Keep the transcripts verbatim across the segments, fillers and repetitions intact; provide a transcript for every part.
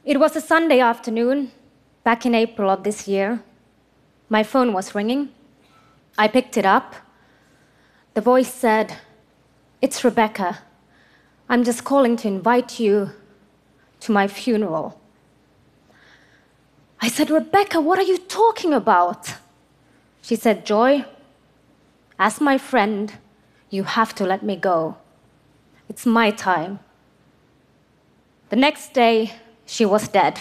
It was a Sunday afternoon, back in April of this year. My phone was ringing. I picked it up. The voice said, "It's Rebecca. I'm just calling to invite you to my funeral." I said, "Rebecca, what are you talking about?" She said, "Joy, as my friend, you have to let me go. It's my time." The next day, she was dead.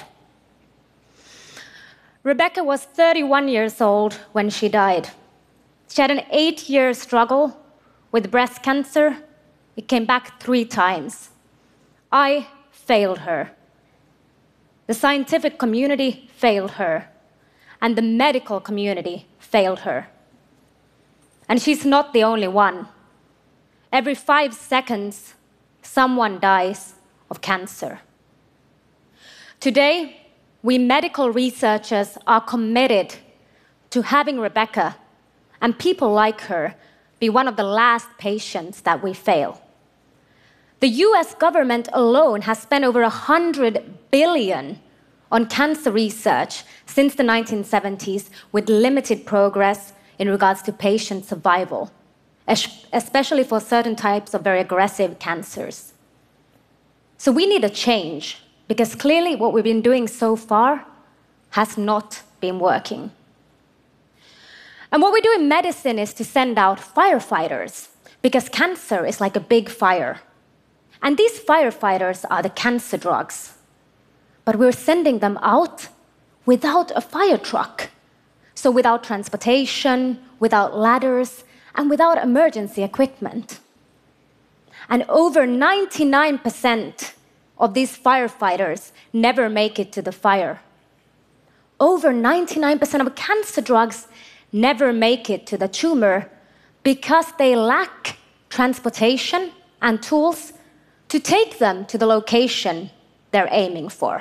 Rebecca was thirty-one years old when she died. She had an eight-year struggle with breast cancer. It came back three times. I failed her. The scientific community failed her. And the medical community failed her. And she's not the only one. Every five seconds, someone dies of cancer. Today, we medical researchers are committed to having Rebecca and people like her be one of the last patients that we fail. The U S government alone has spent over one hundred billion dollars on cancer research since the nineteen seventies, with limited progress in regards to patient survival, especially for certain types of very aggressive cancers. So we need a change, because clearly what we've been doing so far has not been working. And what we do in medicine is to send out firefighters, because cancer is like a big fire. And these firefighters are the cancer drugs. But we're sending them out without a fire truck. So without transportation, without ladders, and without emergency equipment. And over ninety-nine percent of these firefighters never make it to the fire. Over ninety-nine percent of cancer drugs never make it to the tumor because they lack transportation and tools to take them to the location they're aiming for.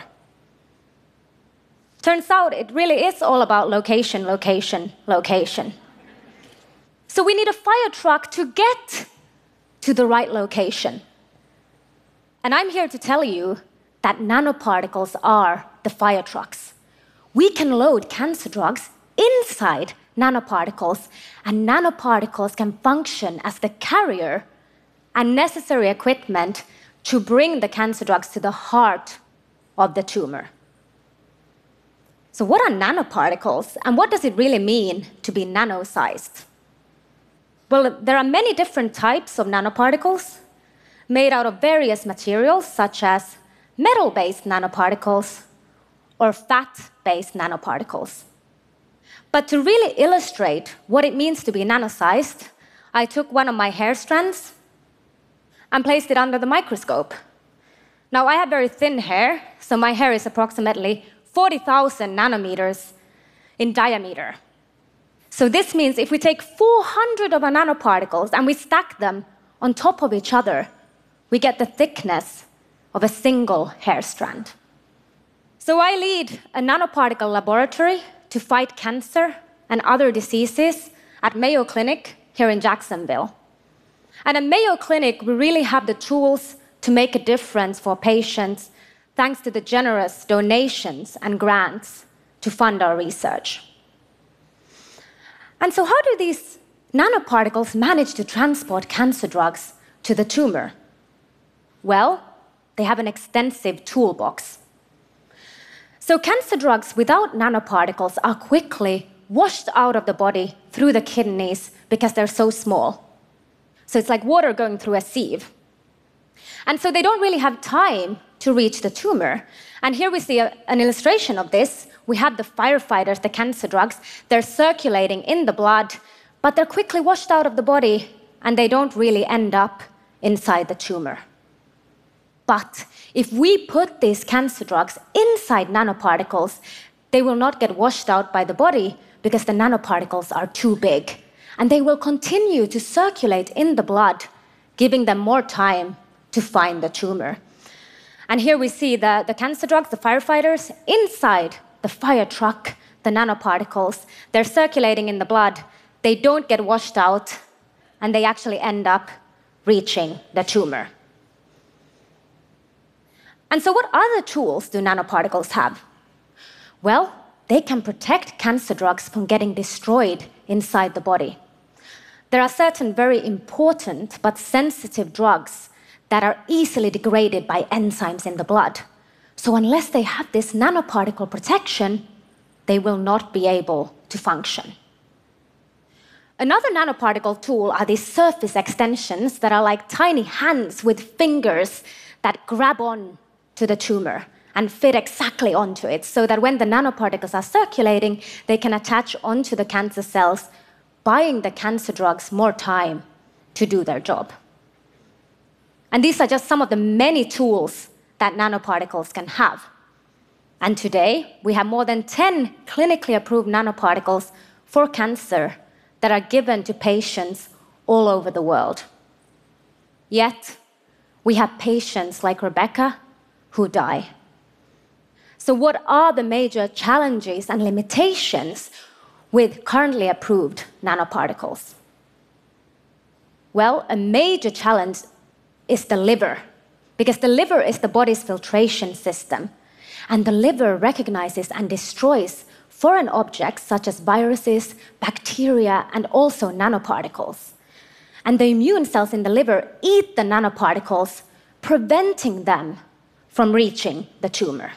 Turns out it really is all about location, location, location. So we need a fire truck to get to the right location. And I'm here to tell you that nanoparticles are the fire trucks. We can load cancer drugs inside nanoparticles, and nanoparticles can function as the carrier and necessary equipment to bring the cancer drugs to the heart of the tumor. So what are nanoparticles, and what does it really mean to be nano-sized? Well, there are many different types of nanoparticles made out of various materials, such as metal-based nanoparticles or fat-based nanoparticles. But to really illustrate what it means to be nano-sized, I took one of my hair strands and placed it under the microscope. Now, I have very thin hair, so my hair is approximately forty thousand nanometers in diameter. So this means if we take four hundred of our nanoparticles and we stack them on top of each other, we get the thickness of a single hair strand. So I lead a nanoparticle laboratory to fight cancer and other diseases at Mayo Clinic here in Jacksonville. And at Mayo Clinic, we really have the tools to make a difference for patients thanks to the generous donations and grants to fund our research. And so how do these nanoparticles manage to transport cancer drugs to the tumor? Well, they have an extensive toolbox. So cancer drugs without nanoparticles are quickly washed out of the body through the kidneys because they're so small. So it's like water going through a sieve. And so they don't really have time to reach the tumor. And here we see a, an illustration of this. We have the firefighters, the cancer drugs. They're circulating in the blood, but they're quickly washed out of the body, and they don't really end up inside the tumor. But if we put these cancer drugs inside nanoparticles, they will not get washed out by the body because the nanoparticles are too big. And they will continue to circulate in the blood, giving them more time to find the tumor. And here we see the, the cancer drugs, the firefighters, inside the fire truck, the nanoparticles. They're circulating in the blood. They don't get washed out, and they actually end up reaching the tumor. And so what other tools do nanoparticles have? Well, they can protect cancer drugs from getting destroyed inside the body. There are certain very important but sensitive drugs that are easily degraded by enzymes in the blood. So unless they have this nanoparticle protection, they will not be able to function. Another nanoparticle tool are these surface extensions that are like tiny hands with fingers that grab on to the tumor and fit exactly onto it, so that when the nanoparticles are circulating, they can attach onto the cancer cells, buying the cancer drugs more time to do their job. And these are just some of the many tools that nanoparticles can have. And today, we have more than ten clinically approved nanoparticles for cancer that are given to patients all over the world. Yet, we have patients like Rebecca who die. So what are the major challenges and limitations with currently approved nanoparticles? Well, a major challenge is the liver, because the liver is the body's filtration system, and the liver recognizes and destroys foreign objects such as viruses, bacteria, and also nanoparticles. And the immune cells in the liver eat the nanoparticles, preventing them from reaching the tumor.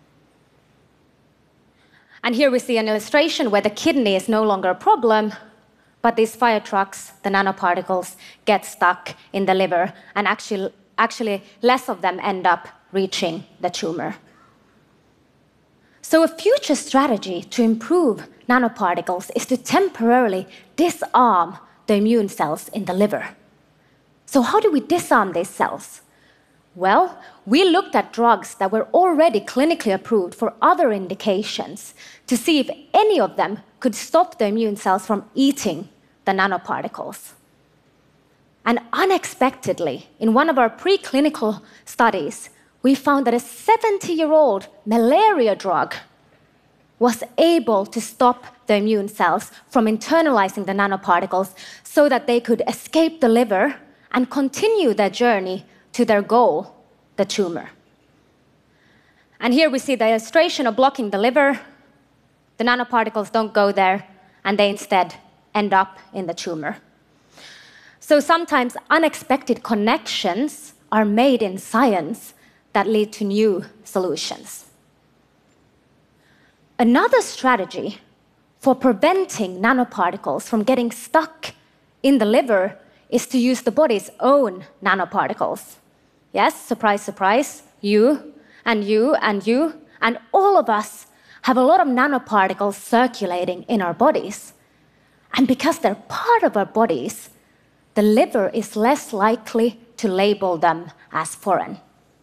And here we see an illustration where the kidney is no longer a problem, but these fire trucks, the nanoparticles, get stuck in the liver, and actually, actually less of them end up reaching the tumor. So a future strategy to improve nanoparticles is to temporarily disarm the immune cells in the liver. So how do we disarm these cells? Well, we looked at drugs that were already clinically approved for other indications to see if any of them could stop the immune cells from eating the nanoparticles. And unexpectedly, in one of our preclinical studies, we found that a seventy-year-old malaria drug was able to stop the immune cells from internalizing the nanoparticles so that they could escape the liver and continue their journey to their goal, the tumor. And here we see the illustration of blocking the liver. The nanoparticles don't go there, and they instead end up in the tumor. So sometimes unexpected connections are made in science that lead to new solutions. Another strategy for preventing nanoparticles from getting stuck in the liver is to use the body's own nanoparticles. Yes, surprise, surprise, you and you and you and all of us have a lot of nanoparticles circulating in our bodies. And because they're part of our bodies, the liver is less likely to label them as foreign.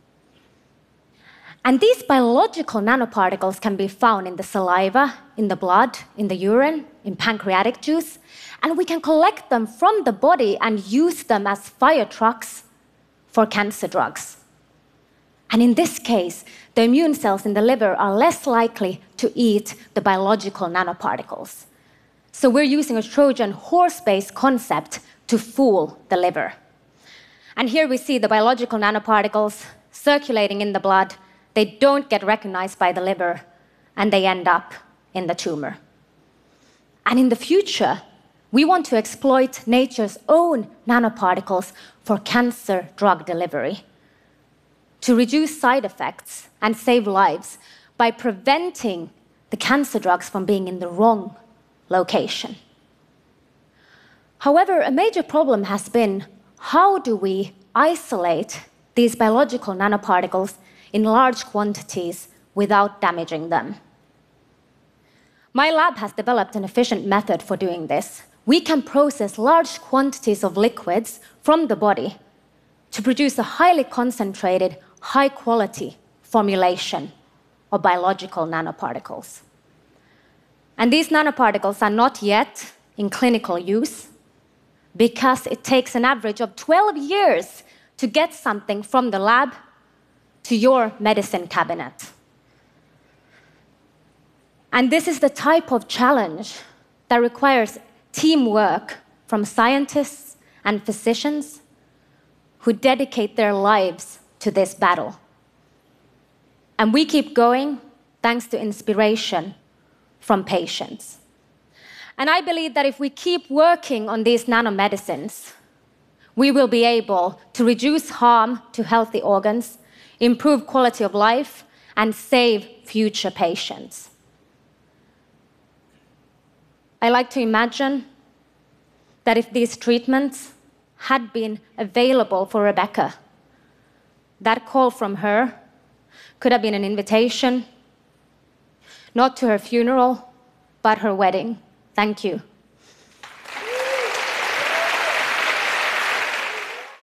And these biological nanoparticles can be found in the saliva, in the blood, in the urine, in pancreatic juice, and we can collect them from the body and use them as fire trucks for cancer drugs. And in this case, the immune cells in the liver are less likely to eat the biological nanoparticles. So we're using a Trojan horse-based concept to fool the liver. And here we see the biological nanoparticles circulating in the blood. They don't get recognized by the liver, and they end up in the tumor. And in the future, we want to exploit nature's own nanoparticles for cancer drug delivery, to reduce side effects and save lives by preventing the cancer drugs from being in the wrong location. However, a major problem has been, how do we isolate these biological nanoparticles in large quantities without damaging them? My lab has developed an efficient method for doing this. We can process large quantities of liquids from the body to produce a highly concentrated, high-quality formulation of biological nanoparticles. And these nanoparticles are not yet in clinical use because it takes an average of twelve years to get something from the lab to your medicine cabinet. And this is the type of challenge that requires teamwork from scientists and physicians who dedicate their lives to this battle. And we keep going thanks to inspiration from patients. And I believe that if we keep working on these nanomedicines, we will be able to reduce harm to healthy organs, improve quality of life, and save future patients. I like to imagine that if these treatments had been available for Rebecca, that call from her could have been an invitation, not to her funeral, but her wedding. Thank you.